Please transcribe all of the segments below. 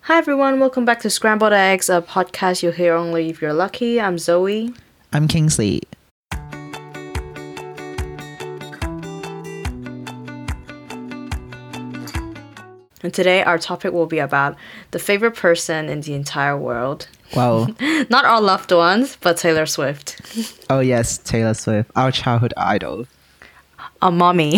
Hi everyone, welcome back to Scrambled Eggs, a podcast you'll hear only if you're lucky. I'm Zoe. I'm Kingsley. And today our topic will be about the favorite person in the entire world. Well, Not our loved ones, but Taylor Swift. oh yes, Taylor Swift, our childhood idol. A mommy.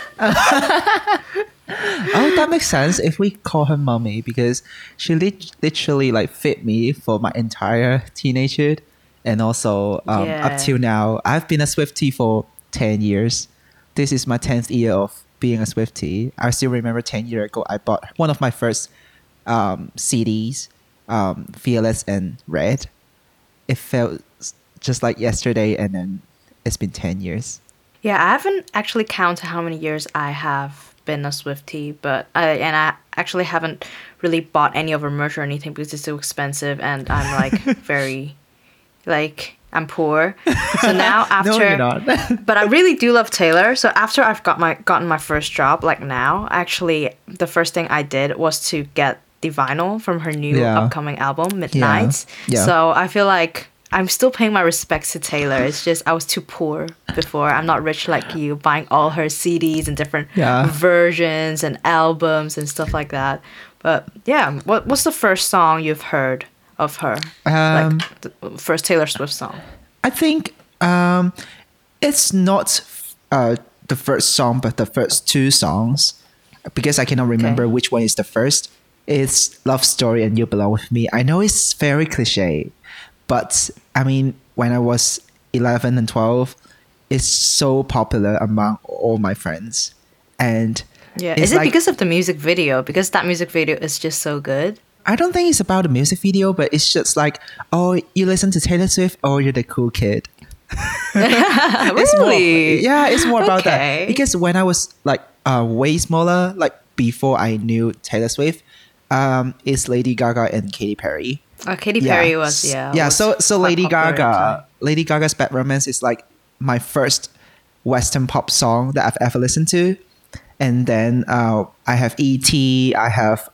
Oh, that makes sense if we call her mommy because she literally like fit me for my entire teenagehood, and also Yeah. up till now. I've been a Swiftie for 10 years. This is my 10th year of being a Swiftie. I still remember 10 years ago I bought one of my first CDs, Fearless and Red. It felt just like yesterday, and then it's been 10 years. Yeah, I haven't actually counted how many years I have been a Swiftie, but I actually haven't really bought any of her merch or anything because it's so expensive, and I'm like very, like I'm poor. So now after, No, you're not. but I really do love Taylor. So after I've gotten my first job, like now, actually the first thing I did was to get the vinyl from her new Yeah. upcoming album, Midnights. Yeah. So I feel like I'm still paying my respects to Taylor. It's just I was too poor before. I'm not rich like you, buying all her CDs and different Yeah. versions and albums and stuff like that. But yeah, what's the first song you've heard of her? Like the first Taylor Swift song. I think it's not the first song, but the first two songs, because I cannot remember Okay. which one is the first. It's Love Story and You Belong With Me. I know it's very cliche, but I mean, when I was 11 and 12, it's so popular among all my friends. And Yeah, it's is it like- because of the music video? Because that music video is just so good. I don't think it's about the music video, but it's just like, oh, you listen to Taylor Swift, oh, you're the cool kid. It's more- Really? yeah, it's more about Okay. that. Because when I was like way smaller, like before I knew Taylor Swift, it's Lady Gaga and Katy Perry. Katy Perry was So quite Lady popular at the time. Lady Gaga's Bad Romance is like my first Western pop song that I've ever listened to, and then I have E.T. I have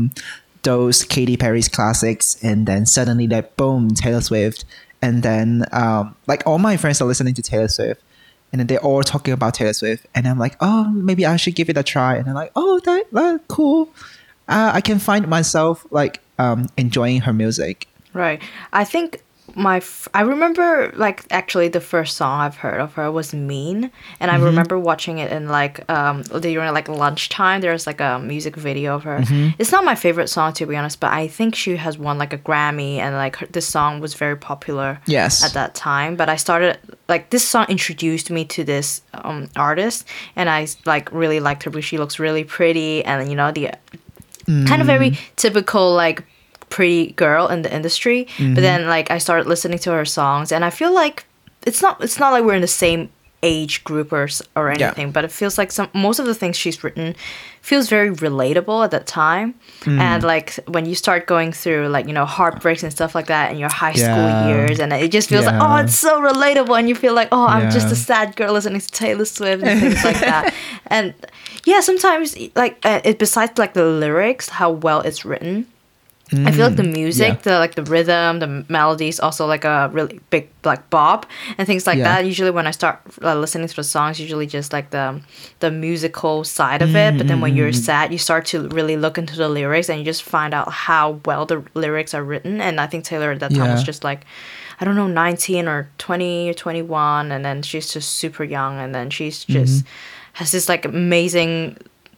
those Katy Perry's classics, and then suddenly like boom, Taylor Swift, and then like all my friends are listening to Taylor Swift, and then they're all talking about Taylor Swift, and I'm like, oh, maybe I should give it a try, and I'm like, oh, that cool. I can find myself like enjoying her music. Right. I think I remember like actually the first song I've heard of her was Mean, and I remember watching it in like during like lunchtime. There's like a music video of her. It's not my favorite song to be honest, but I think she has won like a Grammy, and like this song was very popular Yes. at that time. But I started like this song introduced me to this artist, and I like really liked her because she looks really pretty, and you know the kind of very typical like pretty girl in the industry. But then like I started listening to her songs, and I feel like it's not like we're in the same age group or anything, but it feels like most of the things she's written feels very relatable at that time. And like when you start going through like, you know, heartbreaks and stuff like that in your high school Yeah. years, and it just feels like, Yeah. oh, it's so relatable, and you feel like, oh, I'm just Yeah. a sad girl listening to Taylor Swift and things like that. And yeah, sometimes like besides like the lyrics, how well it's written, I feel like the music, the rhythm, the melodies, also like a really big like bop and things like Yeah. that. Usually when I start listening to the songs, usually just like the musical side of it. But then when you're sad, you start to really look into the lyrics, and you just find out how well the lyrics are written. And I think Taylor at that time was Yeah. just like, I don't know, 19 or 20 or 21, and then she's just super young, and then she's just has this like amazing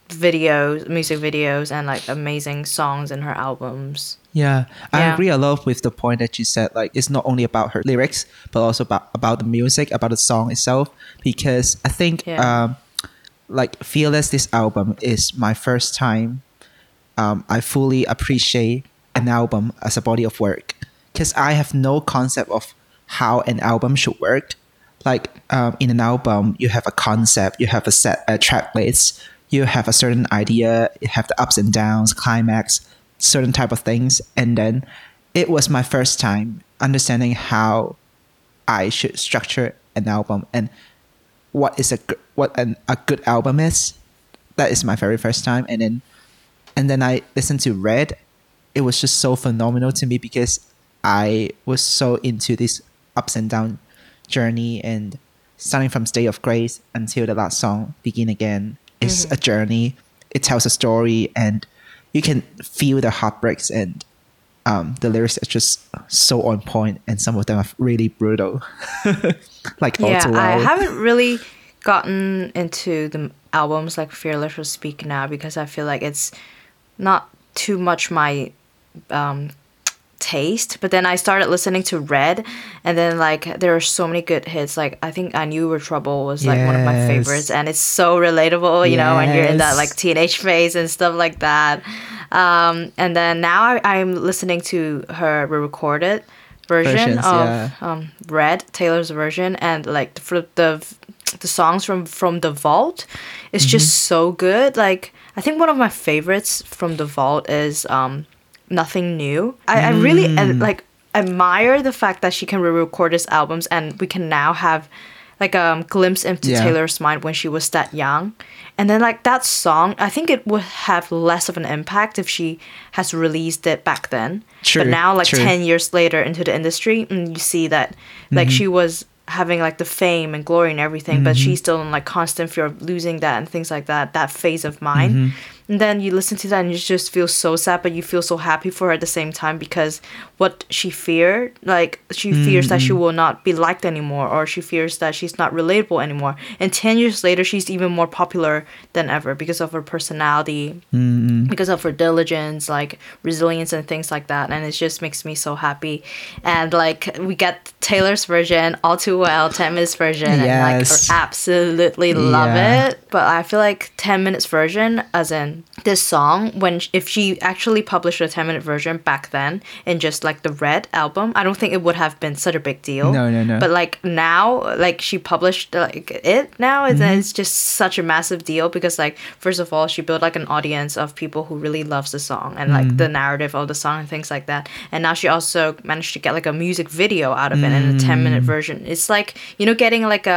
music videos, and like amazing songs in her albums. Yeah, I Yeah. agree a lot with the point that you said. Like, it's not only about her lyrics, but also about the music, about the song itself. Because I think, Yeah. like, Fearless, this album is my first time I fully appreciate an album as a body of work. Because I have no concept of how an album should work. Like, in an album, you have a concept, you have a track list, you have a certain idea, you have the ups and downs, climax, certain type of things. And then it was my first time understanding how I should structure an album and what a good album is. That is my very first time. And then I listened to Red, it was just so phenomenal to me because I was so into this ups and down journey, and starting from State of Grace until the last song, Begin Again, is a journey. It tells a story, and you can feel the heartbreaks, and the lyrics are just so on point, and some of them are really brutal. Like All Yeah, Too I Well. haven't really gotten into the albums like Fearless or Speak Now because I feel like it's not too much my um, taste. But then I started listening to Red, and then like there are so many good hits. Like I think I Knew You Were Trouble was like one of my favorites, Yes. and it's so relatable, you know, when you're in that Yes. like teenage phase and stuff like that. And then now I'm listening to her re-recorded version Versions, of yeah. Red, Taylor's version, and like the songs from The Vault is just so good. Like I think one of my favorites from The Vault is Nothing New. I really like admire the fact that she can re-record his albums, and we can now have like a glimpse into Yeah. Taylor's mind when she was that young. And then like that song, I think it would have less of an impact if she has released it back then. True, But now like true. 10 years later into the industry, and you see that like she was having like the fame and glory and everything, but she's still in like constant fear of losing that and things like that, that phase of mind. And then you listen to that and you just feel so sad, but you feel so happy for her at the same time, because what she feared, like she fears that she will not be liked anymore, or she fears that she's not relatable anymore. And 10 years later, she's even more popular than ever because of her personality, because of her diligence, like resilience and things like that. And it just makes me so happy. And like we get Taylor's version, All Too Well, 10 minutes version, and like Yes. absolutely love Yeah. it. But I feel like 10 minutes version, as in this song, if she actually published a 10-minute version back then in just like the Red album, I don't think it would have been such a big deal. No. But like now, like she published like it now, it's just such a massive deal because like first of all, she built like an audience of people who really loves the song and like the narrative of the song and things like that. And now she also managed to get like a music video out of it in a 10-minute version. It's like, you know, getting like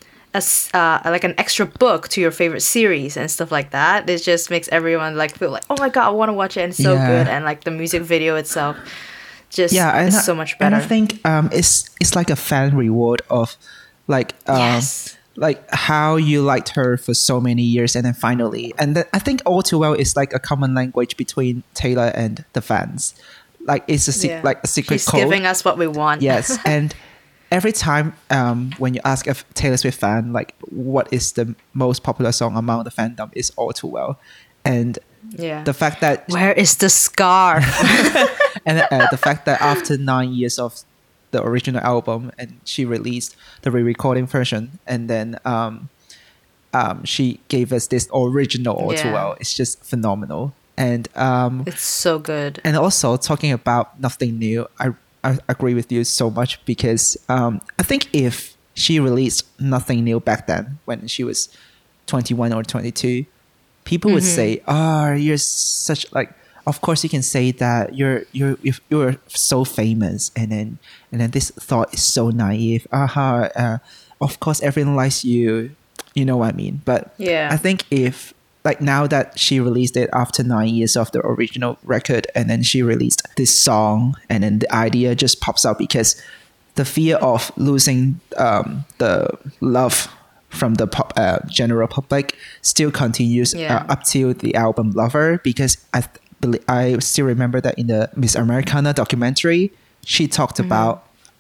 like an extra book to your favorite series and stuff like that. It just makes everyone like feel like, oh my god, I want to watch it, and it's so Yeah. good. And like the music video itself just And is so much And better. I think it's like a fan reward of like Yes. like how you liked her for so many years, and then finally, I think All Too Well is like a common language between Taylor and the fans. Like it's like a secret She's code. giving us what we want. Yes, and every time when you ask a Taylor Swift fan like what is the most popular song among the fandom, is All Too Well. And Yeah. the fact that Where is the scarf? and the fact that after 9 years of the original album, and she released the re-recording version, and then she gave us this original All Too Yeah. Well, it's just phenomenal. And It's so good. and also talking about Nothing New, I agree with you so much because I think if she released Nothing New back then when she was 21 or 22, people would say, "Oh, you're such like." Of course, you can say that you're so famous, and then this thought is so naive. Of course, everyone likes you. You know what I mean? But Yeah. I think if like now that she released it after 9 years of the original record, and then she released this song, and then the idea just pops up because the fear of losing the love from the general public still continues Yeah. up till the album Lover, because I still remember that in the Miss Americana documentary, she talked about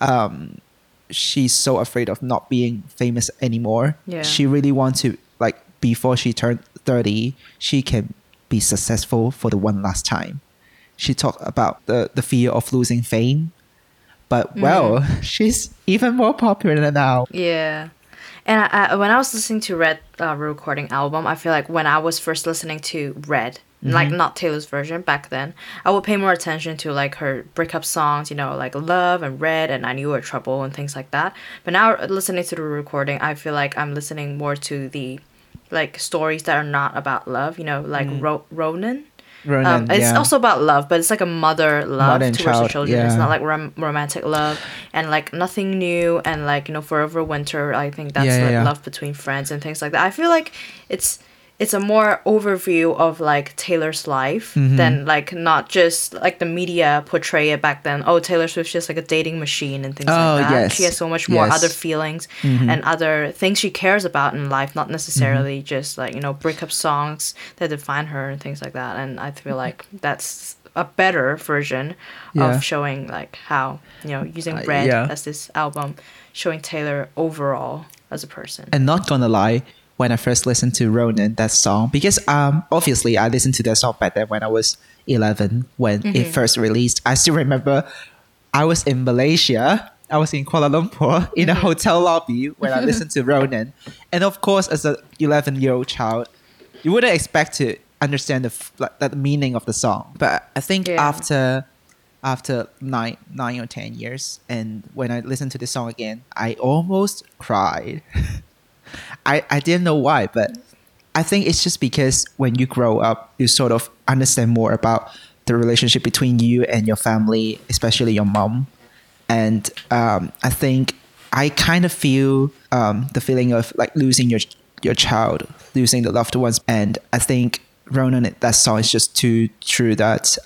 she's so afraid of not being famous anymore. Yeah. She really wants to, like, before she turned 30, she can be successful for the one last time. She talked about the fear of losing fame. But, well, she's even more popular now. Yeah. And I when I was listening to Red recording album, I feel like when I was first listening to Red, like not Taylor's version back then, I would pay more attention to like her breakup songs, you know, like Love and Red and I Knew You Were Trouble and things like that. But now listening to the recording, I feel like I'm listening more to the like stories that are not about love, you know, like Ronan. Ronan, It's yeah. also about love, but it's like a mother love Mother and towards the child, children. It's yeah. not like romantic love, and like Nothing New, and like, you know, Forever Winter. I think that's Yeah, like yeah. love between friends and things like that. I feel like it's it's a more overview of like Taylor's life than like not just like the media portray it back then. Oh, Taylor Swift's just like a dating machine and things like that. yes. She has so much more Yes. other feelings and other things she cares about in life, not necessarily just like, you know, breakup songs that define her and things like that. And I feel like that's a better version Yeah. of showing like how, you know, using Red yeah. as this album, showing Taylor overall as a person. And not gonna lie, when I first listened to Ronan, that song, because obviously I listened to that song back then when I was 11 when it first released. I still remember I was in Malaysia. I was in Kuala Lumpur in a hotel lobby when I listened to Ronan. And of course, as an 11-year-old child, you wouldn't expect to understand the meaning of the song. But I think Yeah. after nine or 10 years, and when I listened to the song again, I almost cried. I didn't know why, but I think it's just because when you grow up, you sort of understand more about the relationship between you and your family, especially your mom. And I think I kind of feel the feeling of like losing your child, losing the loved ones. And I think Ronan, that song is just too true that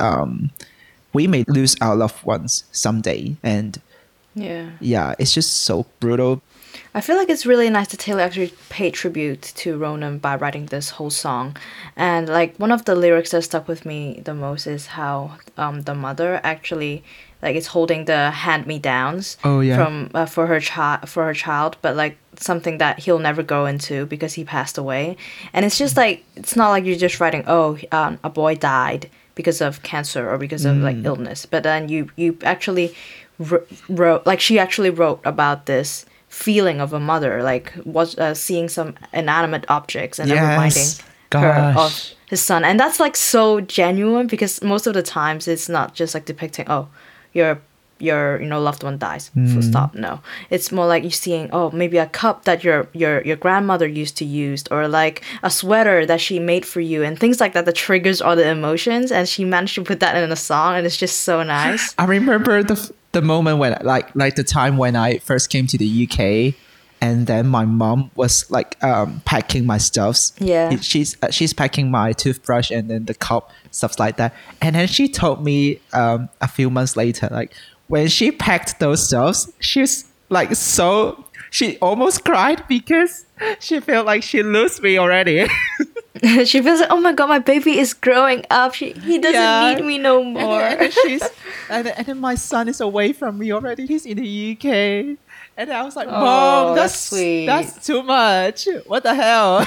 we may lose our loved ones someday. And yeah, it's just so brutal. I feel like it's really nice that Taylor actually paid tribute to Ronan by writing this whole song. And like one of the lyrics that stuck with me the most is how the mother actually like is holding the hand-me-downs from for her child, but like something that he'll never go into because he passed away. And it's just like it's not like you're just writing a boy died because of cancer or because of like illness, but then you actually wrote like she actually wrote about this feeling of a mother, like was seeing some inanimate objects and then reminding her of his son. And that's like so genuine because most of the times it's not just like depicting your you know loved one dies, full stop. No, it's more like you seeing maybe a cup that your grandmother used to use, or like a sweater that she made for you, and things like that that triggers all the emotions. And she managed to put that in a song, and it's just so nice. I remember the moment when like the time when I first came to the UK, and then my mom was like packing my stuffs. Yeah. She's packing my toothbrush and then the cup, stuff like that. And then she told me a few months later, like when she packed those stuffs, she's like she almost cried because she felt like she lost me already. She feels like, oh my god, my baby is growing up. He doesn't need me no more. And then my son is away from me already. He's in the UK. And I was like, Mom, that's sweet. That's too much. What the hell?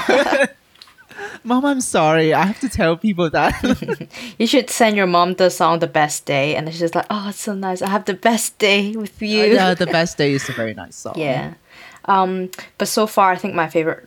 Mom, I'm sorry. I have to tell people that. You should send your mom the song "The Best Day," and she's just like, "Oh, it's so nice. I have the best day with you." Yeah, The Best Day is a very nice song. Yeah. But so far, I think my favorite.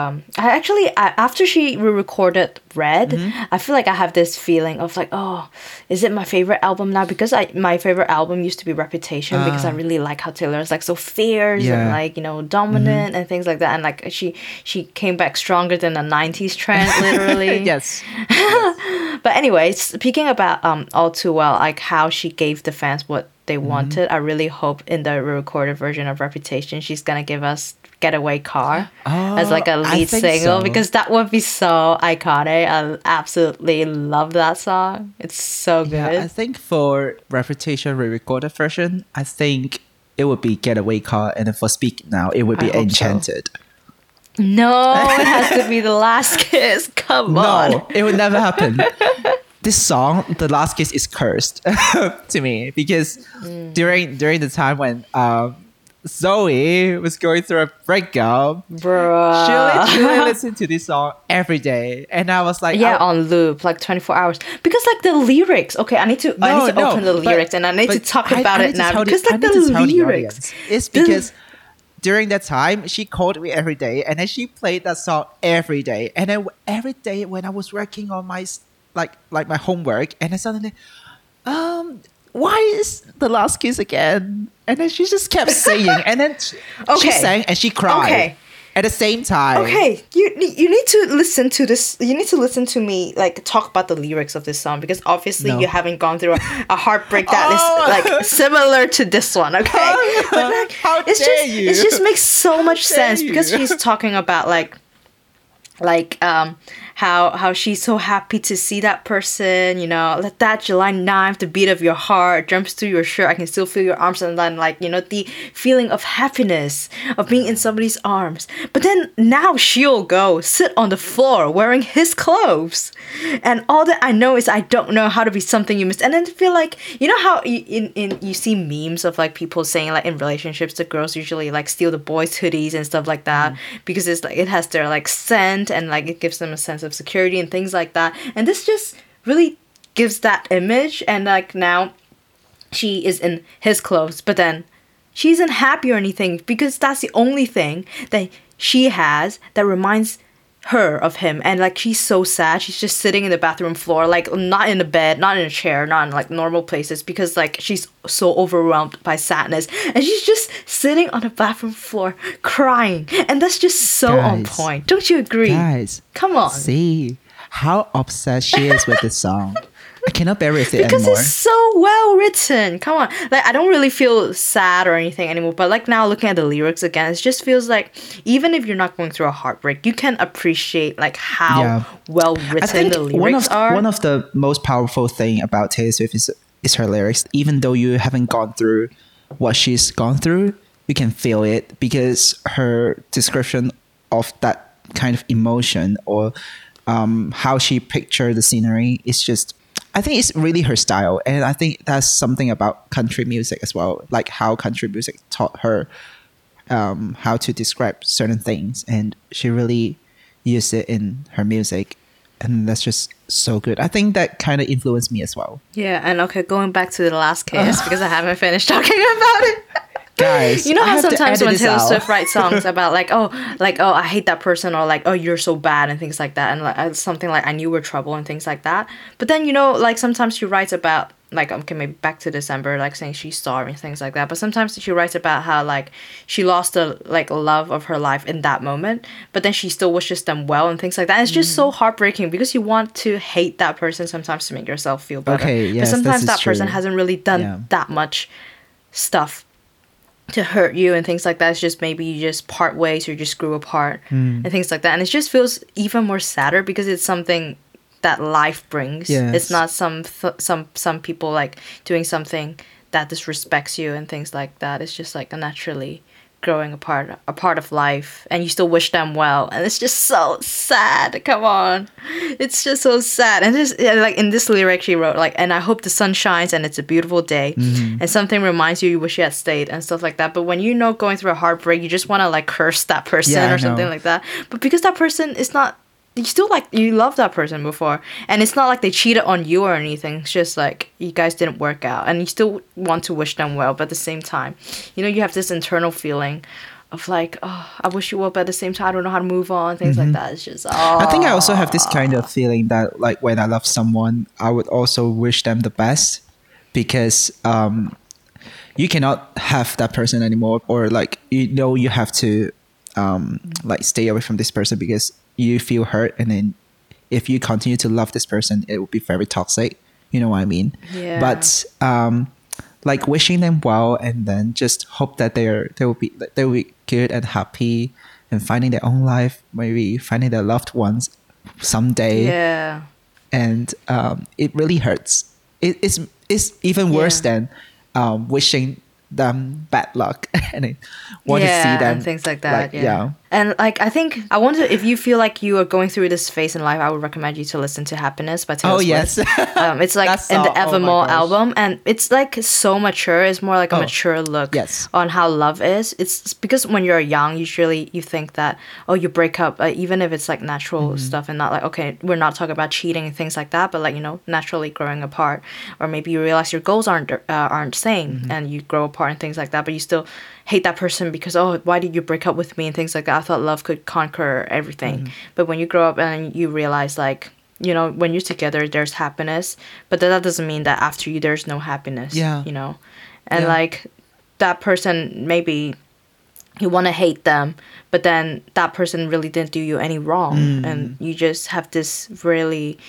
After she re-recorded Red, I feel like I have this feeling of like, oh, is it my favorite album now? Because my favorite album used to be Reputation because I really like how Taylor is like so fierce and like dominant and things like that, and like she came back stronger than the '90s trend, literally. Yes. But anyway, speaking about All Too Well, like how she gave the fans what they wanted, I really hope in the recorded version of Reputation she's gonna give us Getaway Car as like a lead single, because that would be so iconic. I absolutely love that song. It's so good. Yeah, I think for Reputation re-recorded version, I think it would be Getaway Car, and then for Speak Now, it would be Enchanted. So. No, it has to be The Last Kiss. Come on. No, it would never happen. This song, The Last Kiss, is cursed to me because during the time when Zoe was going through a breakup, bruh, she literally listened to this song every day, and I was like, on loop, like 24 hours. Because like the lyrics, okay, I need to open the lyrics and I need to talk about it now because like the lyrics. It's because during that time she called me every day, and then she played that song every day, and then every day when I was working on my like my homework, and then suddenly, why is The Last Kiss again? And then she just kept singing, and then she sang and she cried at the same time. Okay, you need to listen to this. You need to listen to me like talk about the lyrics of this song, because obviously you haven't gone through a heartbreak that is like similar to this one. Okay, but like how dare you? It just makes so much sense because she's talking about like like how she's so happy to see that person, let that July 9th, the beat of your heart jumps through your shirt, I can still feel your arms, and then like the feeling of happiness of being in somebody's arms. But then now she'll go sit on the floor wearing his clothes, and all that I know is I don't know how to be something you missed. And then feel like, how you see memes of like people saying like in relationships the girls usually like steal the boys' hoodies and stuff like that, because it's like it has their like scent, and like it gives them a sense of security and things like that. And this just really gives that image. And like now she is in his clothes, but then she isn't happy or anything, because that's the only thing that she has that reminds her of him. And like she's so sad, she's just sitting in the bathroom floor, like not in a bed, not in a chair, not in like normal places, because like she's so overwhelmed by sadness, and she's just sitting on the bathroom floor crying. And that's just so on Guys. point, don't you agree? Guys, Come on. see how obsessed she is with this song. I cannot bear with it Because anymore. it's so well written. Come on. Like, I don't really feel sad or anything anymore. But like now looking at the lyrics again, it just feels like even if you're not going through a heartbreak, you can appreciate like how Yeah. well I written think the lyrics are. one of the most powerful thing about Taylor Swift is her lyrics. Even though you haven't gone through what she's gone through, you can feel it, because her description of that kind of emotion, or how she pictured the scenery, is just, I think it's really her style. And I think that's something about country music as well, like how country music taught her how to describe certain things, and she really used it in her music, and that's just so good. I think that kind of influenced me as well. Yeah, and okay, going back to the last kiss, because I haven't finished talking about it. Guys, You know I how have to sometimes edit when this Taylor out. Swift writes songs about like oh I hate that person, or like oh you're so bad and things like that, and like something like I knew we're trouble and things like that. But then like sometimes she writes about like okay, maybe back to December, like saying she's sorry and things like that. But sometimes she writes about how like she lost the like love of her life in that moment, but then she still wishes them well and things like that. And it's just so heartbreaking, because you want to hate that person sometimes to make yourself feel better. Okay, yes, but sometimes this is that person true. hasn't really done Yeah. that much stuff to hurt you and things like that. It's just maybe you just part ways, or you just grew apart Hmm. and things like that. And it just feels even more sadder, because it's something that life brings. Yes. It's not some people like doing something that disrespects you and things like that. It's just like a naturally growing a part of life, and you still wish them well, and it's just so sad. Come on, it's just so sad. And this like in this lyric she wrote like, and I hope the sun shines and it's a beautiful day, and something reminds you wish you had stayed and stuff like that. But when going through a heartbreak, you just want to like curse that person Yeah, I or something know. like that. But because that person is not, you still like, you love that person before, and it's not like they cheated on you or anything. It's just like you guys didn't work out, and you still want to wish them well, but at the same time you have this internal feeling of like, oh, I wish you well, but at the same time I don't know how to move on, things like that. It's just I think I also have this kind of feeling that like when I love someone, I would also wish them the best, because you cannot have that person anymore, or like you have to like stay away from this person because you feel hurt, and then if you continue to love this person, it will be very toxic. You know what I mean? Yeah. But like wishing them well, and then just hope that they will be good and happy, and finding their own life, maybe finding their loved ones someday. yeah And it really hurts. It's even worse Yeah. than wishing them bad luck and I want to see yeah, them and things like that. like, yeah. And like I think I wonder if you feel like you are going through this phase in life, I would recommend you to listen to Happiness by Taylor Oh, Swift. yes. It's like That in the song, oh my Evermore gosh. album, and it's like so mature. It's more like a Oh, mature look yes. on how love is. It's because when you're young, usually you think that you break up, even if it's like natural Mm-hmm. stuff, and not like okay, we're not talking about cheating and things like that, but like naturally growing apart, or maybe you realize your goals aren't same, Mm-hmm. and you grow apart and things like that, but you still hate that person because why did you break up with me and things like that. I thought love could conquer everything. Mm-hmm. But when you grow up and you realize like when you're together there's happiness, but that doesn't mean that after you there's no happiness. Yeah. And Yeah. like that person, maybe you want to hate them, but then that person really didn't do you any wrong, and you just have this really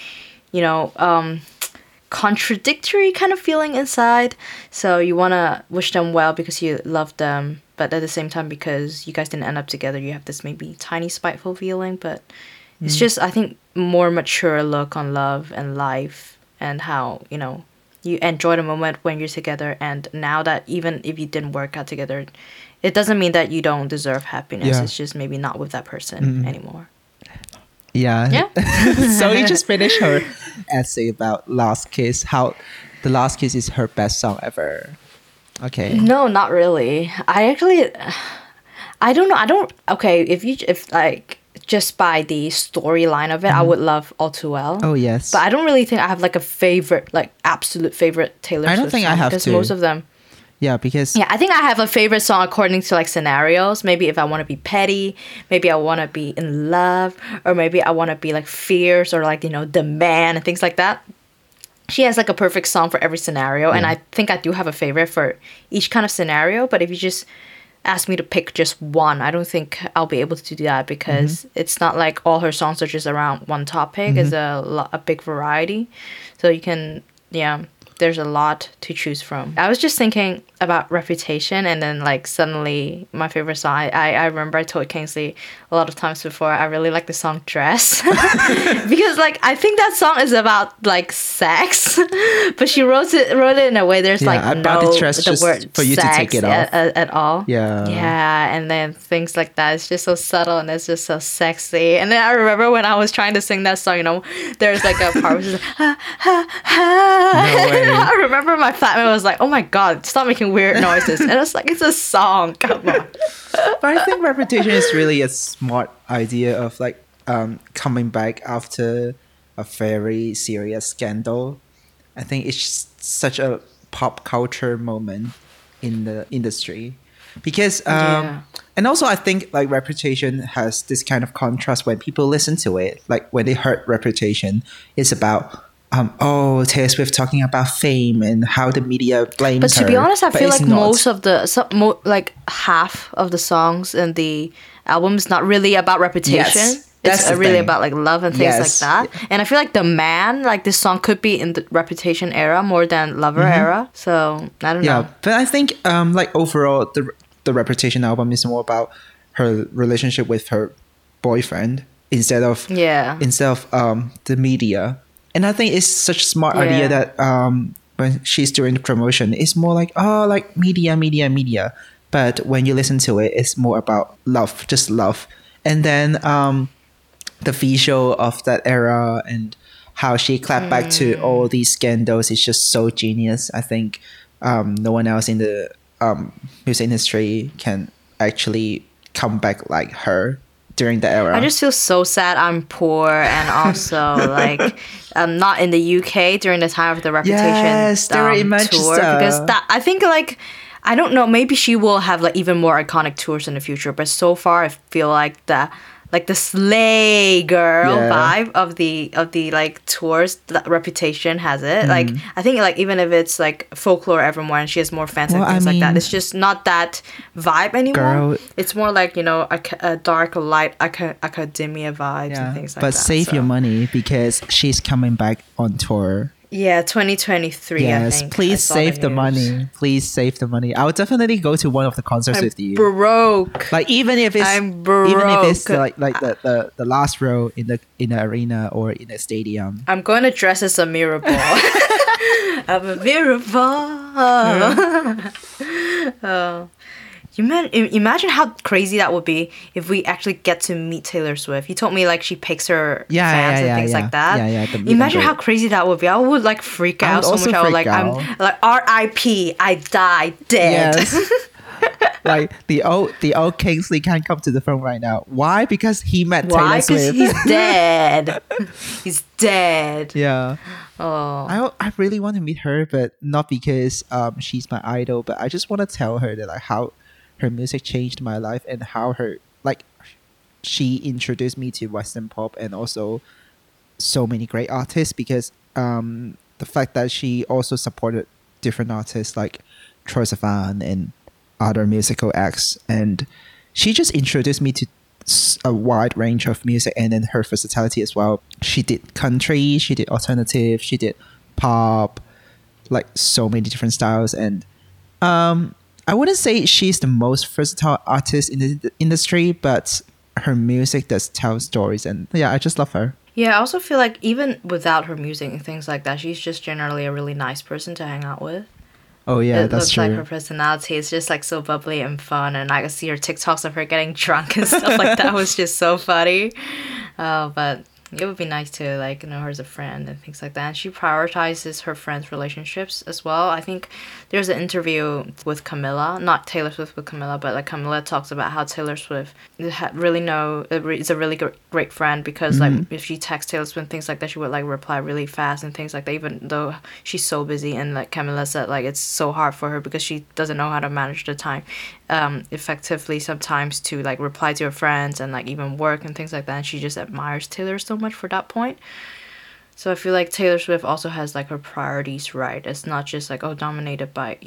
contradictory kind of feeling inside. So you want to wish them well because you love them, but at the same time, because you guys didn't end up together, you have this maybe tiny spiteful feeling. But It's just, I think, more mature look on love and life and how, you know, you enjoy the moment when you're together. And now that even if you didn't work out together, it doesn't mean that you don't deserve happiness. Yeah. It's just maybe not with that person anymore. Yeah. Yeah. So you just finished her essay about Last Kiss, how The Last Kiss is her best song ever. Okay. No, not really. I don't know. Okay, if like just by the storyline of it, I would love All Too Well. Oh, yes. But I don't really think I have like a favorite, like absolute favorite Taylor Swift I don't think song, I have because to. most of them. Yeah, because Yeah, I think I have a favorite song according to like scenarios. Maybe if I want to be petty, maybe I want to be in love, or maybe I want to be like fierce or like, you know, the man and things like that. She has like a perfect song for every scenario, and I think I do have a favorite for each kind of scenario. But if you just ask me to pick just one, I don't think I'll be able to do that, because it's not like all her songs are just around one topic. It's a big variety, so you can, yeah, there's a lot to choose from. I was just thinking about Reputation, and then like suddenly my favorite song, I remember I told Kingsley a lot of times before, I really like the song Dress. Because like I think that song is about like sex, but she wrote it in a way there's like I bought no the dress just word for you to sex take it off. at all. Yeah. And then things like that. It's just so subtle and it's just so sexy. And then I remember when I was trying to sing that song, you know, there's like a part where she's like, ha, ha, ha. No way. I remember my flatmate was like, oh my God, stop making weird noises. And I was like, it's a song. Come on. But I think Reputation is really a smart idea of like coming back after a very serious scandal. I think it's just such a pop culture moment in the industry, because and also I think like Reputation has this kind of contrast when people listen to it. Like when they heard Reputation, it's about Taylor Swift talking about fame and how the media blames But to be her. honest, I But feel it's like not. most of the like half of the songs in the album is not really about reputation. Yes, that's It's the really thing. about like love and things Yes. like that. And I feel like The Man, like this song could be in the Reputation era more than Lover era. So I don't Yeah, know. but I think like overall the Reputation album is more about her relationship with her boyfriend instead of Yeah. the media. And I think it's such a smart Yeah. idea that when she's doing the promotion, it's more like like media. But when you listen to it, it's more about love, just love. And then the visual of that era and how she clapped back to all these scandals is just so genius. I think no one else in the music industry can actually come back like her during the era. I just feel so sad I'm poor, and also like I'm not in the UK during the time of the Reputation Yes, they were in tour, Manchester. because that I think like I don't know, maybe she will have like even more iconic tours in the future, but so far I feel like the slay girl Yeah. vibe of the like tours, the Reputation has it. Like I think like even if it's like Folklore Evermore and she has more fans and Well, I things like that, mean, it's just not that vibe anymore. girl- It's more like, you know, a dark light academia vibes and things like but that. save so. your money because she's coming back on tour. Yeah, 2023. I Yes, think. I please saw save the news. money. Please save the money. I would definitely go to one of the concerts I'm with you. broke. Like even if it's I'm even if it's broke. like the last row in the arena or in a stadium. I'm going to dress as a mirror ball. I'm a mirror ball. Oh. Imagine how crazy that would be if we actually get to meet Taylor Swift. You told me like she picks her fans and things like that. Yeah, the meet and Imagine how greet. crazy that would be. I would like freak I out would so also much. I would freak like out. I'm like R.I.P. I die dead. Yes. Like the old Kingsley can't come to the front right now. Why? Because he met Why? Taylor Because Swift. he's dead. He's dead. Yeah. Oh. I really want to meet her, but not because she's my idol, but I just want to tell her that like how her music changed my life and how she introduced me to Western pop and also so many great artists, because the fact that she also supported different artists like Troye Sivan and other musical acts, and she just introduced me to a wide range of music, and then her versatility as well. She did country, she did alternative, she did pop, like so many different styles. And I wouldn't say she's the most versatile artist in the industry, but her music does tell stories, and yeah, I just love her. Yeah, I also feel like even without her music and things like that, she's just generally a really nice person to hang out with. Oh yeah, It that's looks true. like her personality is just like so bubbly and fun, and I could see her TikToks of her getting drunk and stuff like that was just so funny. But it would be nice to like know her as a friend and things like that. And she prioritizes her friends' relationships as well. I think there's an interview with Camilla, not Taylor Swift with Camilla, but like Camilla talks about how Taylor Swift really is a really great friend because like if she texts Taylor Swift and things like that, she would like reply really fast and things like that, even though she's so busy. And like Camilla said, like it's so hard for her because she doesn't know how to manage the time effectively sometimes to like reply to her friends and like even work and things like that. And she just admires Taylor so much for that point. So I feel like Taylor Swift also has like her priorities right. It's not just like dominated by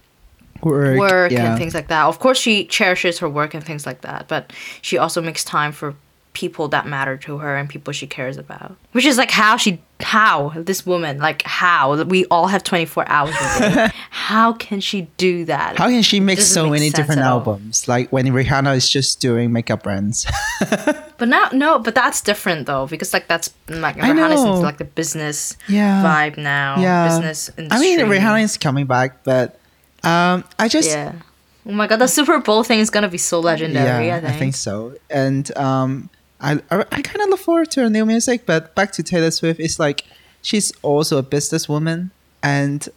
work yeah. and things like that. Of course she cherishes her work and things like that, but she also makes time for people that matter to her and people she cares about. Which is like how this woman, like how we all have 24 hours a day. How can she do that? How can she make so many sense different at all. albums? Like when Rihanna is just doing makeup brands. But that's different though, because like that's like Rihanna's into like the business vibe now. Yeah. Business industry. I mean, Rihanna is coming back, but I just yeah. Oh my god, the Super Bowl thing is gonna be so legendary. yeah, I think so. And I kind of look forward to her new music. But back to Taylor Swift, it's like she's also a businesswoman, and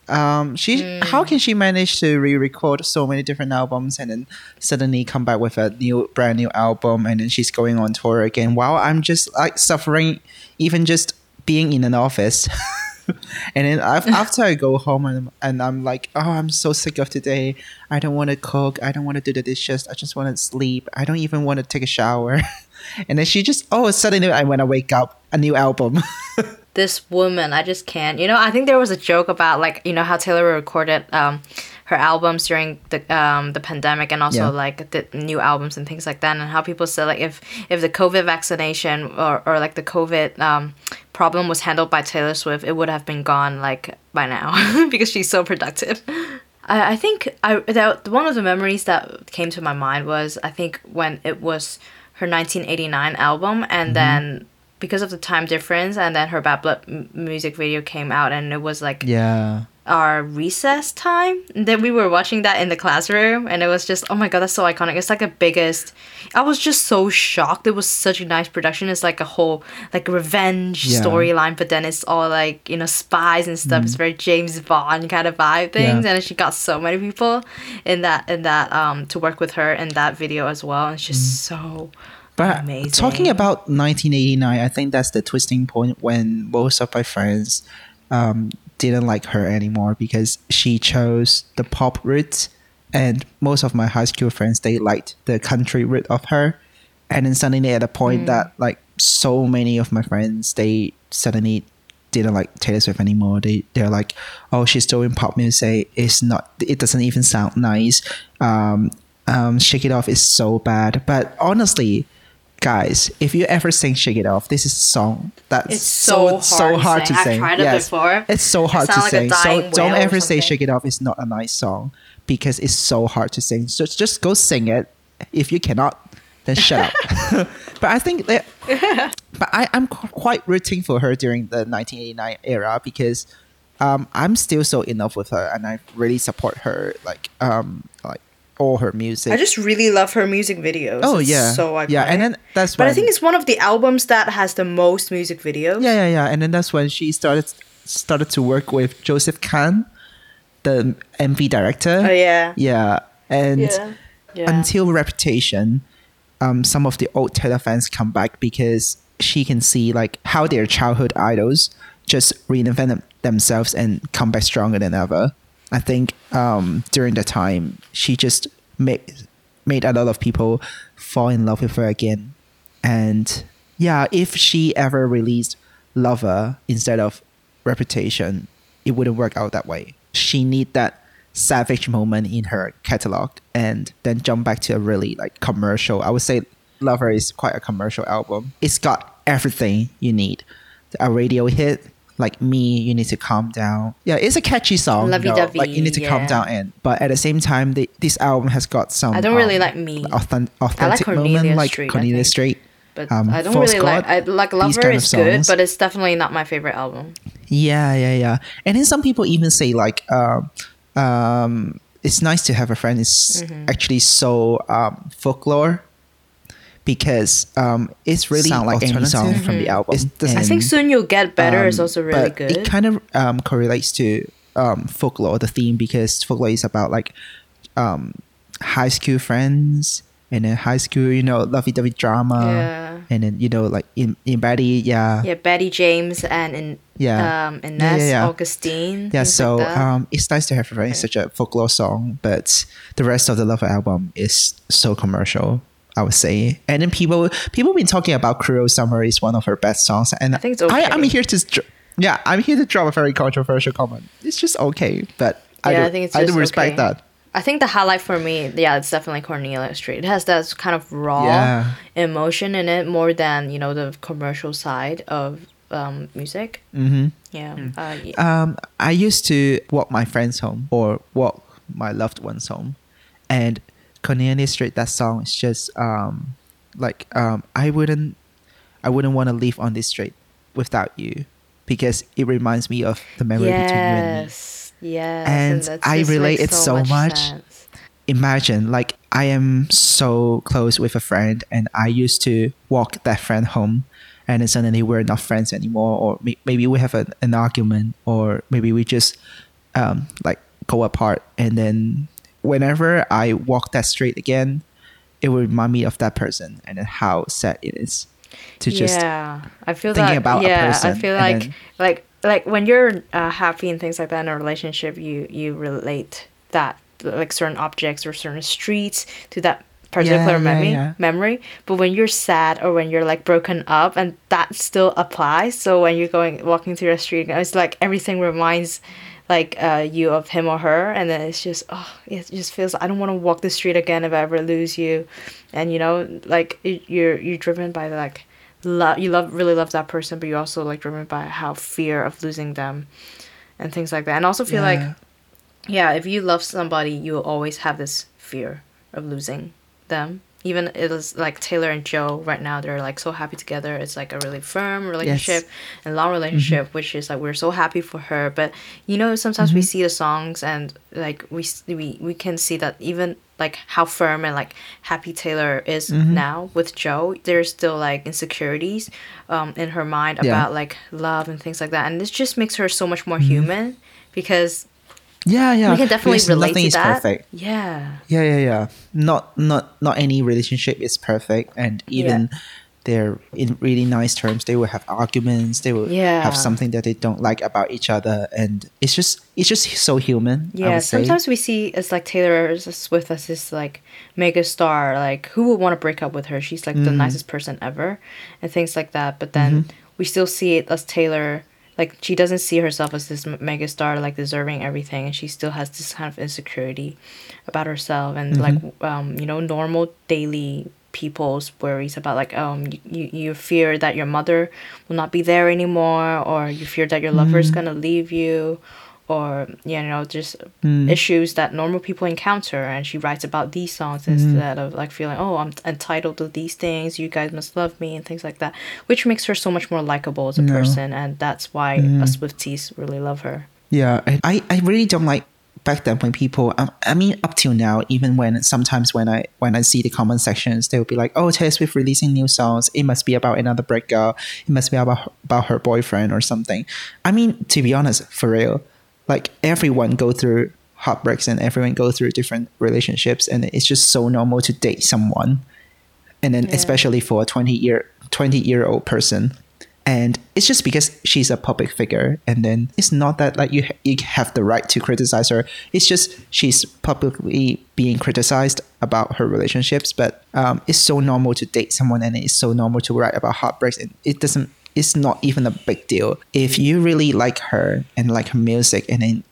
how can she manage to re-record so many different albums and then suddenly come back with a brand new album, and then she's going on tour again while I'm just like suffering even just being in an office. And then after I go home and I'm like, oh, I'm so sick of today. I don't want to cook. I don't want to do the dishes. I just want to sleep. I don't even want to take a shower. And then she just, suddenly when I wake up, a new album. this woman, I just can't. I think there was a joke about like how Taylor recorded her albums during the pandemic and also like the new albums and things like that, and how people said like if the COVID vaccination or like the COVID problem was handled by Taylor Swift, it would have been gone like by now because she's so productive. I think one of the memories that came to my mind was I think when it was her 1989 album, and then because of the time difference, and then her Bad Blood music video came out, and it was like our recess time. And then we were watching that in the classroom, and it was just, oh my god, that's so iconic. It's like the biggest. I was just so shocked. It was such a nice production. It's like a whole like revenge storyline, but then it's all like spies and stuff. It's very James Bond kind of vibe things, and she got so many people in that to work with her in that video as well. And it's just so. But amazing. Talking about 1989, I think that's the twisting point when most of my friends didn't like her anymore because she chose the pop route, and most of my high school friends, they liked the country route of her. And then suddenly at a point that like so many of my friends, they suddenly didn't like Taylor Swift anymore. They're like, oh, she's doing pop music. It doesn't even sound nice. Shake It Off is so bad. But honestly, guys, if you ever sing Shake It Off, this is a song that's it's so hard to sing. I've tried it before. It's so hard to sing. So don't ever say something. Shake It Off is not a nice song because it's so hard to sing. So just go sing it. If you cannot, then shut up. But I think that, I'm quite rooting for her during the 1989 era because I'm still so in love with her, and I really support her like all her music. I just really love her music videos. Oh it's yeah, so iconic. Yeah, and then that's but when, I think it's one of the albums that has the most music videos. Yeah, and then that's when she started to work with Joseph Kahn, the MV director. Oh yeah. Yeah, and until Reputation, some of the old Taylor fans come back because she can see like how their childhood idols just reinvent themselves and come back stronger than ever. I think during the time, she just made a lot of people fall in love with her again. And yeah, if she ever released Lover instead of Reputation, it wouldn't work out that way. She need that savage moment in her catalog and then jump back to a really like commercial. I would say Lover is quite a commercial album. It's got everything you need. A radio hit, like me, you need to calm down. Yeah, it's a catchy song. Lovey-dovey, like you need to calm yeah. down, and but at the same time, this album has got some. I don't really like Me. Authentic Cornelia moment, like Street, I Cornelia think. Street. But I don't False really like. God, I like these Lover kind of is good, songs. but it's definitely not my favorite album. Yeah. And then some people even say like, it's nice to have a friend is actually so folklore, because it's really sound like any song from the album. I think Soon You'll Get Better is also really but good. It kind of correlates to folklore, the theme, because folklore is about like high school friends, and then high school, lovey-dovey drama. Yeah. And then, like in Betty, Yeah, Betty James and Inez Augustine. Yeah, things so like that. it's nice to have a friend such a folklore song, but the rest of the Lover album is so commercial, I would say. And then people been talking about Cruel Summer is one of her best songs, and I think it's okay. I'm here to drop a very controversial comment. It's just okay, but I think it's I do just respect okay. that. I think the highlight for me, it's definitely Cornelia Street. It has that kind of raw emotion in it more than, the commercial side of music. Mm-hmm. Yeah. I used to walk my friends home or walk my loved ones home, and Cornelia Street, that song is just I wouldn't want to live on this street without you, because it reminds me of the memory between you and me. Yes, and I relate it so much. Sense. Imagine, like, I am so close with a friend, and I used to walk that friend home, and then suddenly we're not friends anymore, or maybe we have an argument, or maybe we just go apart, and then whenever I walk that street again, it will remind me of that person, and then how sad it is to just I feel thinking about a person. I feel like when you're happy and things like that in a relationship, you relate that, like, certain objects or certain streets to that particular memory. But when you're sad or when you're like broken up, and that still applies. So when you're walking through a street, it's like everything reminds like you of him or her, and then it's just it just feels, I don't want to walk the street again if I ever lose you. And like you're driven by like really love that person, but you're also like driven by how fear of losing them and things like that. And also feel like if you love somebody, you'll always have this fear of losing them. Even it is like Taylor and Joe right now, they're like so happy together. It's like a really firm relationship and long relationship, which is like, we're so happy for her. But sometimes we see the songs, and like we can see that even like how firm and like happy Taylor is now with Joe, there's still like insecurities in her mind about like love and things like that. And this just makes her so much more human, because we can definitely relate nothing to is that. Perfect. Yeah. Not any relationship is perfect, and even they're in really nice terms, they will have arguments, they will have something that they don't like about each other, and it's just so human. I would say. Sometimes we see it's like Taylor Swift as this like mega star, like who would want to break up with her? She's like the nicest person ever, and things like that. But then we still see it as Taylor. Like, she doesn't see herself as this mega star, like, deserving everything, and she still has this kind of insecurity about herself, and like normal daily people's worries about like you fear that your mother will not be there anymore, or you fear that your lover is gonna leave you, or just issues that normal people encounter. And she writes about these songs instead of like feeling, I'm entitled to these things, you guys must love me, and things like that, which makes her so much more likable as a person. And that's why us Swifties really love her. I really don't like back then when people I mean up till now, even when sometimes when I see the comment sections, they will be like, Taylor Swift releasing new songs, it must be about another breakup, it must be about her boyfriend or something. I mean, to be honest, for real, like, everyone go through heartbreaks, and everyone go through different relationships, and it's just so normal to date someone, and then especially for a 20-year-old person. And it's just because she's a public figure, and then it's not that like you have the right to criticize her. It's just she's publicly being criticized about her relationships, but it's so normal to date someone, and it's so normal to write about heartbreaks, and it's not even a big deal. If you really like her and like her music, and then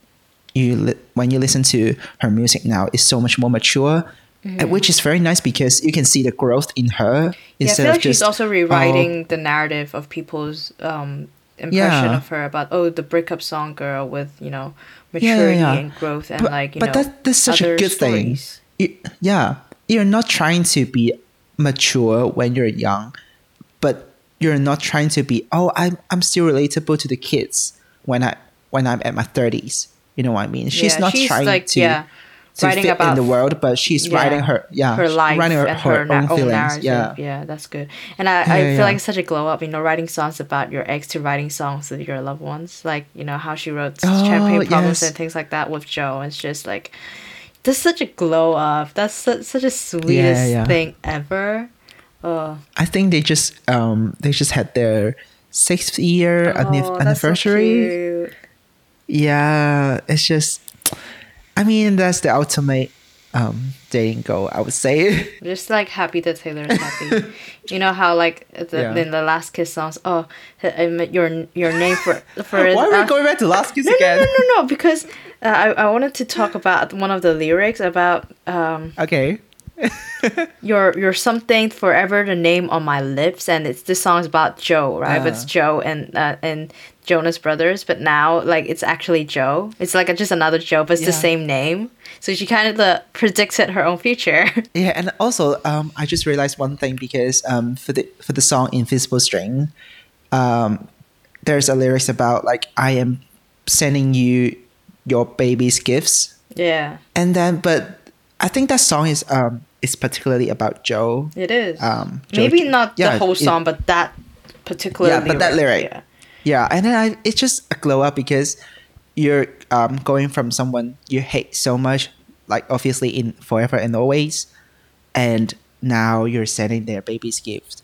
when you listen to her music now, it's so much more mature, which is very nice, because you can see the growth in her. I feel like she's also rewriting the narrative of people's impression Yeah. of her about the breakup song girl with Yeah, maturity yeah. and growth and But that's such a other good thing. stories. Yeah, you're not trying to be mature when you're young, but you're not trying to be, oh, I'm still relatable to the kids when I'm at my 30s. You know what I mean? She's Yeah, not she's trying like to writing fit in about the world, but she's writing her her life writing and her own own feelings. narrative. Yeah. Yeah, that's good. And Yeah, I yeah, feel yeah. like it's such a glow up, writing songs about your ex to writing songs with your loved ones. Like, how she wrote Oh, Champagne Problems yes. and things like that with Joe. It's just like, that's such a glow up. That's such a sweetest yeah. thing ever. I think they just had their 6th year That's so anniversary. cute. Yeah, it's just, I mean, that's the ultimate dating goal, I would say. Just like happy that Taylor's happy. You know how like Yeah. in the Last Kiss songs, your name for Why are we going back to Last Kiss no, again? no, because I wanted to talk about one of the lyrics about Okay. you're something forever the name on my lips, and this song's about Joe, right? But it's Joe and Jonas Brothers, but now like it's actually Joe. It's like just another Joe, but it's the Yeah. same name. So she kind of predicted her own future. Yeah, and also I just realized one thing because for the song Invisible String, there's a lyrics about like I am sending you your baby's gifts. Yeah, And then but I think that song is particularly about Joe. it is. Joe- Maybe not yeah, the whole it- song, but that particular Yeah, but that lyric. Yeah. Yeah, and then it's just a glow up because you're going from someone you hate so much, like obviously in Forever and Always, and now you're sending their baby's gift.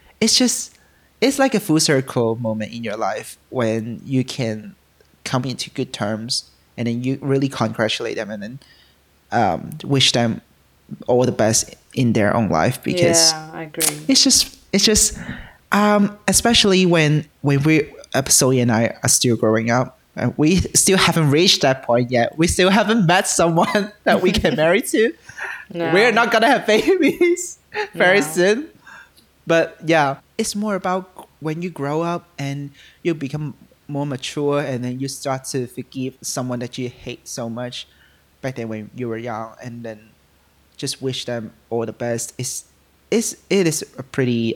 It's like a full circle moment in your life when you can come into good terms and then you really congratulate them and then wish them all the best in their own life because Yeah, I agree. it's just especially when Zoe and I are still growing up and we still haven't reached that point yet. We still haven't met someone that we can marry to. No. We're not gonna have babies very No. soon. But yeah, it's more about when you grow up and you become more mature and then you start to forgive someone that you hate so much back then when you were young and then just wish them all the best. It is a pretty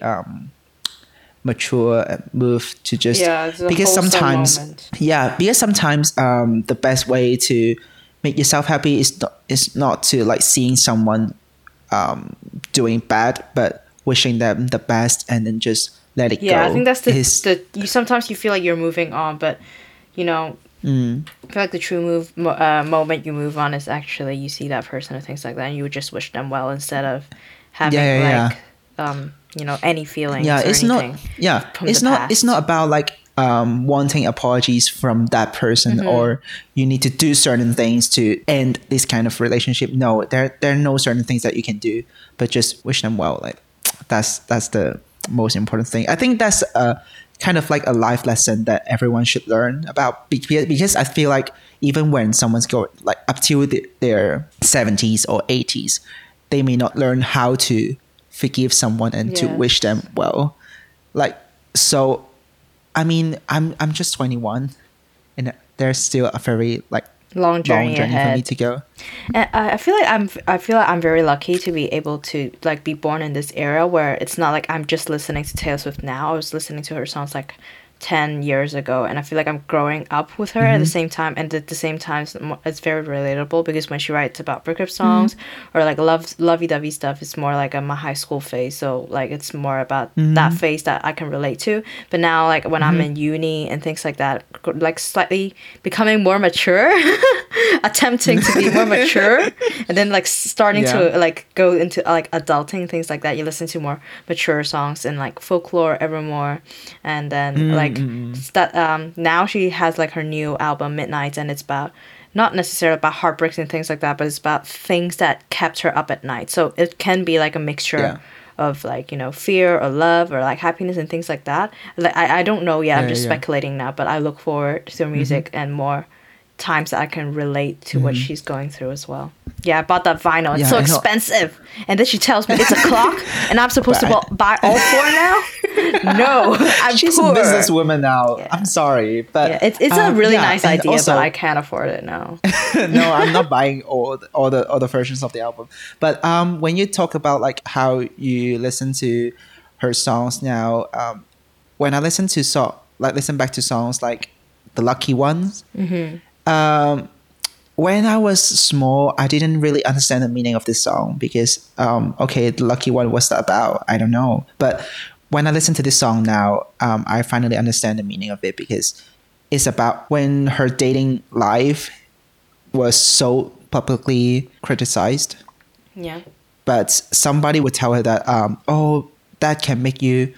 mature move to just It's a because wholesome sometimes moment. the best way to make yourself happy is not to like seeing someone doing bad but wishing them the best and then just let it go. Yeah, I think that's Is- sometimes you feel like you're moving on, but I feel like the true moment you move on is actually you see that person or things like that, and you would just wish them well instead of having Yeah. any feelings. yeah, or it's not anything from it's the not past. it's not about like wanting apologies from that person Mm-hmm. or you need to do certain things to end this kind of relationship. No, there are no certain things that you can do, but just wish them well. Like that's the most important thing. I think that's kind of like a life lesson that everyone should learn about because I feel like even when someone's going like up to their 70s or 80s, they may not learn how to forgive someone and to Yes. wish them well. Like so, I mean, I'm just 21, and there's still a very like long journey for ahead. me to go. And I feel like I'm very lucky to be able to like be born in this era where it's not like I'm just listening to Taylor Swift now. I was listening to her songs like 10 years ago, and I feel like I'm growing up with her at the same time, and at the same time it's very relatable because when she writes about breakup songs or like lovey-dovey stuff, it's more like my high school phase, so like it's more about that phase that I can relate to. But now like when I'm in uni and things like that, like slightly becoming more mature, attempting to be more mature, and then like starting to like go into like adulting, things like that, you listen to more mature songs and like Folklore, Evermore, and then like that now she has like her new album Midnight, and it's about not necessarily about heartbreaks and things like that, but it's about things that kept her up at night. So it can be like a mixture of like fear or love or like happiness and things like that. Like I don't know yet. I'm just speculating now, but I look forward to her music and more times that I can relate to what she's going through as well. Yeah, I bought that vinyl. It's Yeah, so I know. expensive. And then she tells me it's a clock and I'm supposed to buy all four now. No, I'm She's poor. a businesswoman now. Yeah. I'm sorry, but Yeah, it's a really yeah, nice and idea, also- but I can't afford it now. no, I'm not buying all the versions of the album. But when you talk about like how you listen to her songs now, when I listen back to songs like the Lucky Ones, when I was small, I didn't really understand the meaning of this song because, okay, the Lucky One, what's that about? I don't know. But when I listen to this song now, I finally understand the meaning of it because it's about when her dating life was so publicly criticized, Yeah. but somebody would tell her that, oh, that can make you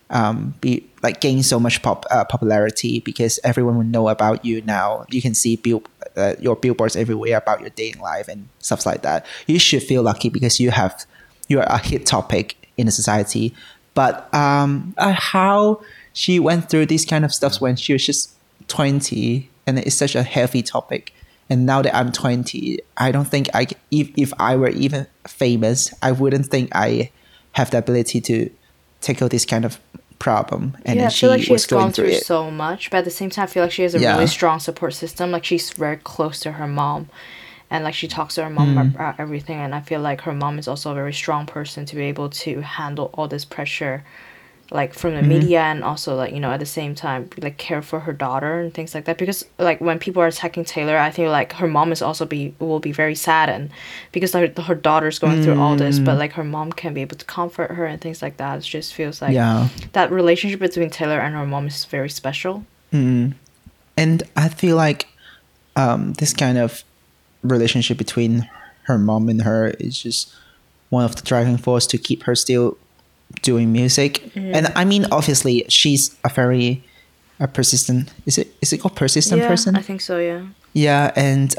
be like gain so much popularity because everyone will know about you now. You can see your billboards everywhere about your dating life and stuff like that. You should feel lucky because you're a hit topic in the society. But how she went through these kind of stuff when she was just 20, and it's such a heavy topic. And now that I'm 20, I don't think if I were even famous, I wouldn't think I have the ability to tackle this kind of problem. And Yeah, then I feel like she she was has going gone through through it. so much, but at the same time, I feel like she has a Yeah. really strong support system. Like she's very close to her mom, and like she talks to her mom about everything. And I feel like her mom is also a very strong person to be able to handle all this pressure, like from the media, and also like, you know, at the same time like care for her daughter and things like that. Because like when people are attacking Taylor, I think like her mom is also will be very saddened because her daughter's going through all this, but like her mom can be able to comfort her and things like that. It just feels like Yeah. that relationship between Taylor and her mom is very special. And I feel like this kind of relationship between her mom and her is just one of the driving force to keep her still doing music. And I mean, obviously, she's a very persistent. Is it called persistent Yeah, person? I think so. Yeah. Yeah, and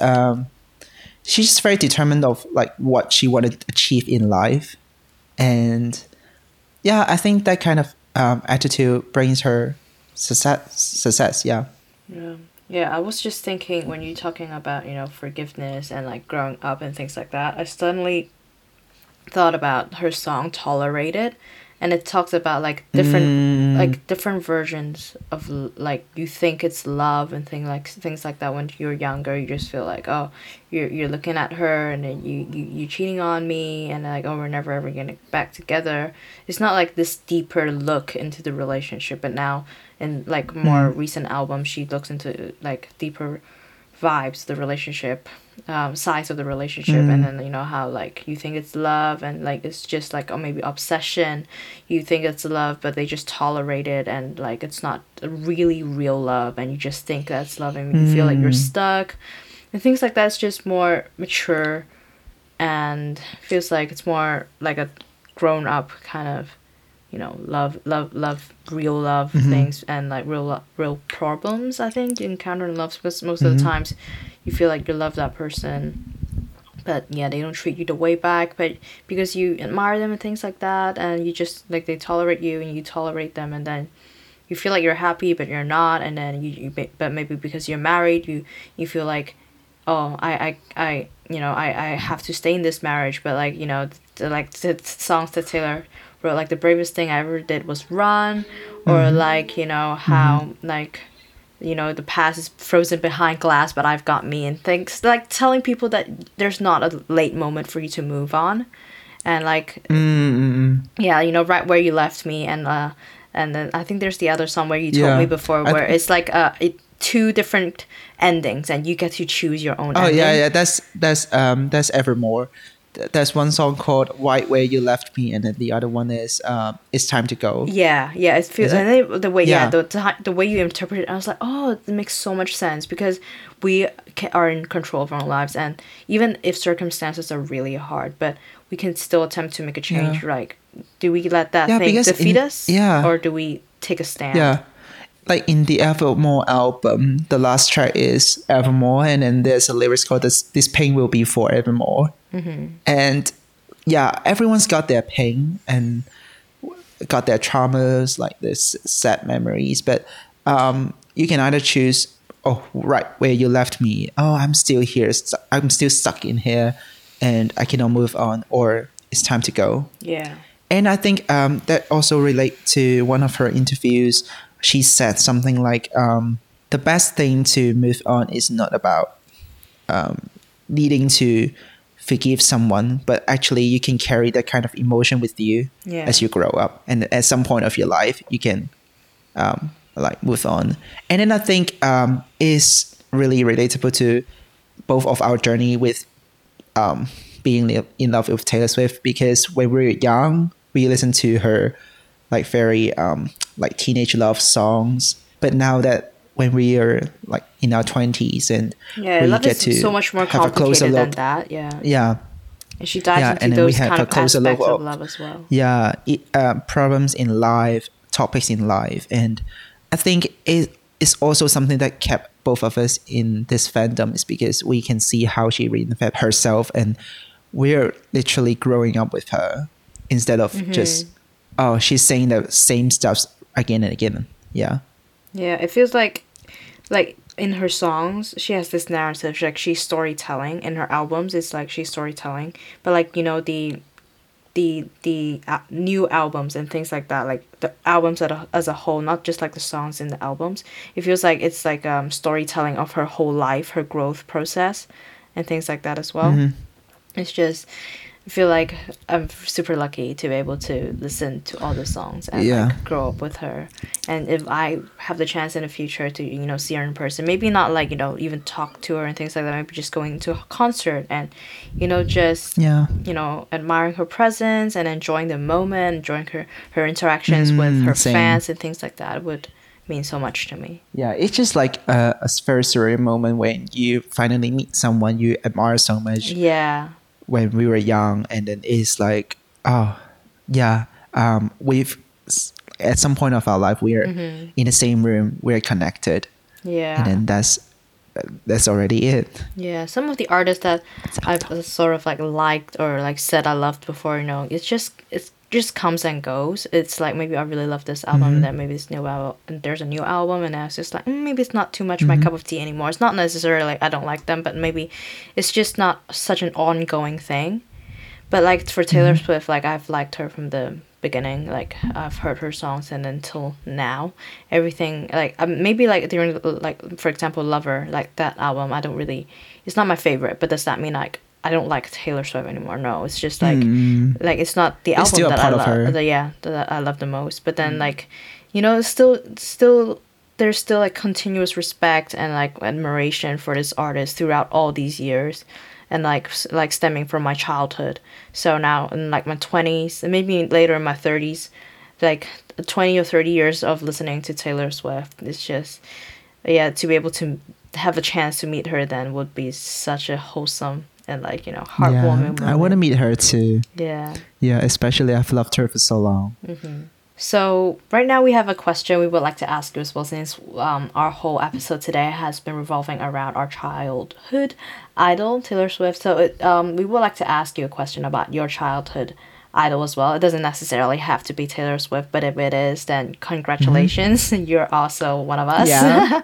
she's just very determined of like what she wanted to achieve in life, and yeah, I think that kind of attitude brings her success. Yeah. Yeah. Yeah, I was just thinking when you're talking about, you know, forgiveness and like growing up and things like that, I suddenly thought about her song Tolerated, and it talks about like different versions of like you think it's love and things like that. When you're younger, you just feel like, oh, you're looking at her and then you cheating on me, and like, oh, we're never ever gonna get back together. It's not like this deeper look into the relationship, but now in like more recent albums she looks into like deeper vibes of the relationship, sides of the relationship, and then, you know, how like you think it's love and like it's just like, or maybe obsession. You think it's love, but they just tolerate it, and like it's not really real love, and you just think that's love, and you feel like you're stuck, and things like that. It's just more mature, and feels like it's more like a grown up kind of, you know, love, real love things, and like real problems I think you encounter in love, because most of the times you feel like you love that person, but yeah, they don't treat you the way back, but because you admire them and things like that, and you just like they tolerate you and you tolerate them, and then you feel like you're happy but you're not, and then but maybe because you're married, you feel like, oh, I you know, I have to stay in this marriage, but like, you know, the songs that Taylor wrote, like the bravest thing I ever did was run, or like, you know, how like, you know, the past is frozen behind glass, but I've got me, and things like telling people that there's not a late moment for you to move on, and like yeah, you know, right where you left me, and then I think there's the other song where you told me before, where it's like two different endings, and you get to choose your own ending. Yeah, that's Evermore. There's one song called "Right Where You Left Me," and then the other one is "It's Time to Go." Yeah, it feels, Is it? and then the way Yeah. the way you interpret it, I was like, oh, it makes so much sense, because we are in control of our own lives, and even if circumstances are really hard, but we can still attempt to make a change. Yeah. Like, do we let that Yeah, thing because defeat in- us, yeah. or do we take a stand? Yeah. Like in the Evermore album, the last track is Evermore, and then there's a lyrics called "This pain will be forevermore." And yeah, everyone's got their pain and got their traumas, like this sad memories. But you can either choose, oh, right where you left me. Oh, I'm still here. I'm still stuck in here, and I cannot move on. Or it's time to go. Yeah. And I think that also relate to one of her interviews. She said something like, the best thing to move on is not about needing to forgive someone, but actually you can carry that kind of emotion with you as you grow up. And at some point of your life, you can like move on. And then I think is really relatable to both of our journey with being in love with Taylor Swift, because when we were young, we listened to her like very like teenage love songs. But now that when we are like in our 20s and we love get is to so much more have a closer complicated than look, that. Yeah. yeah, And she dives yeah, into and then we those have kind a of closer aspects look of of love as well. yeah, problems in life, topics in life. And I think it is also something that kept both of us in this fandom, is because we can see how she reinvented herself, and we're literally growing up with her instead of just, oh, she's saying the same stuff again and again. Yeah. Yeah, it feels like in her songs, she has this narrative. Like she's storytelling. In her albums, it's like she's storytelling. But like, you know, the new albums and things like that, like the albums as a whole, not just like the songs in the albums, it feels like it's like storytelling of her whole life, her growth process, and things like that as well. It's just, I feel like I'm super lucky to be able to listen to all the songs and like grow up with her. And if I have the chance in the future to, you know, see her in person, maybe not like, you know, even talk to her and things like that, maybe just going to a concert and, you know, just, you know, admiring her presence and enjoying the moment, enjoying her interactions with her fans and things like that would mean so much to me. Yeah, it's just like a very surreal moment when you finally meet someone you admire so much. Yeah. When we were young, and then it's like, oh yeah, we've at some point of our life we're in the same room, we're connected, and then that's already it. Yeah, some of the artists that I've sort of like liked or like said I loved before, you know, it's just comes and goes. It's like maybe I really love this album, and then maybe it's new album, and there's a new album, and I was just like, maybe it's not too much my cup of tea anymore. It's not necessarily like I don't like them, but maybe it's just not such an ongoing thing. But like for Taylor Swift, like I've liked her from the beginning. Like I've heard her songs, and until now, everything like maybe like during like for example Lover, like that album, I don't really, it's not my favorite. But does that mean like I don't like Taylor Swift anymore? No, it's just like it's not the album that I love. That I love the most. But then like, you know, still there's still like continuous respect and like admiration for this artist throughout all these years, and like stemming from my childhood. So now in like my 20s and maybe later in my 30s, like 20 or 30 years of listening to Taylor Swift, it's just to be able to have a chance to meet her then would be such a wholesome and like, you know, heartwarming moment. I want to meet her too. Yeah, especially I've loved her for so long. So right now we have a question we would like to ask you as well, since our whole episode today has been revolving around our childhood idol, Taylor Swift. So we would like to ask you a question about your childhood idol as well. It doesn't necessarily have to be Taylor Swift, but if it is, then congratulations. You're also one of us. Yeah.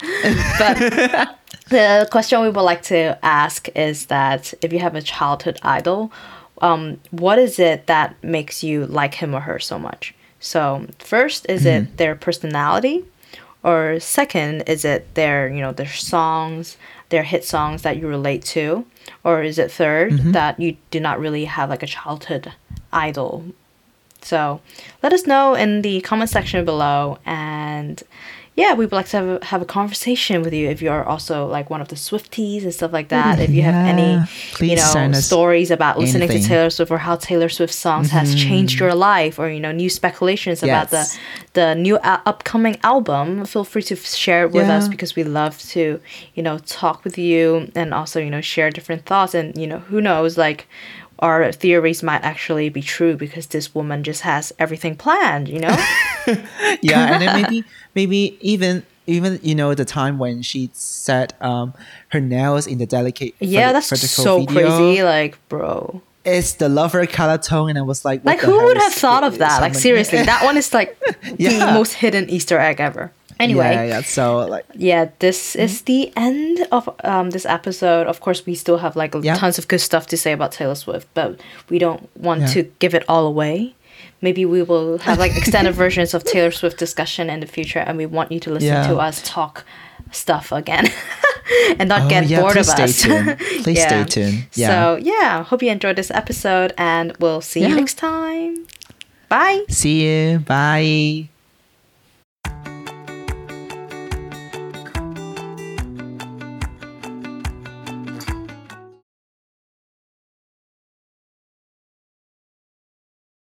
But the question we would like to ask is that if you have a childhood idol, what is it that makes you like him or her so much? So first, is it their personality? Or second, is it their, you know, their songs, their hit songs that you relate to? Or is it third, that you do not really have like a childhood idol? So let us know in the comment section below, and yeah, we would like to have a conversation with you if you're also like one of the Swifties and stuff like that. If you have any, please, you know, stories about listening to Taylor Swift, or how Taylor Swift songs has changed your life, or, you know, new speculations about the new upcoming album, feel free to share it with us, because we love to, you know, talk with you and also, you know, share different thoughts. And, you know, who knows, like our theories might actually be true because this woman just has everything planned, you know? And then maybe even you know the time when she set her nails in the delicate that's so video. crazy, like, bro. It's the Lover color tone, and I was like, what who would have thought of that? Like, seriously, that one is like the most hidden Easter egg ever. Anyway, so like, this is the end of this episode. Of course, we still have like tons of good stuff to say about Taylor Swift, but we don't want to give it all away. maybe we will have like extended versions of Taylor Swift discussion in the future, and we want you to listen to us talk stuff again and not get bored of us. Please stay tuned. Yeah. So yeah, hope you enjoyed this episode, and we'll see you next time. Bye. See you. Bye.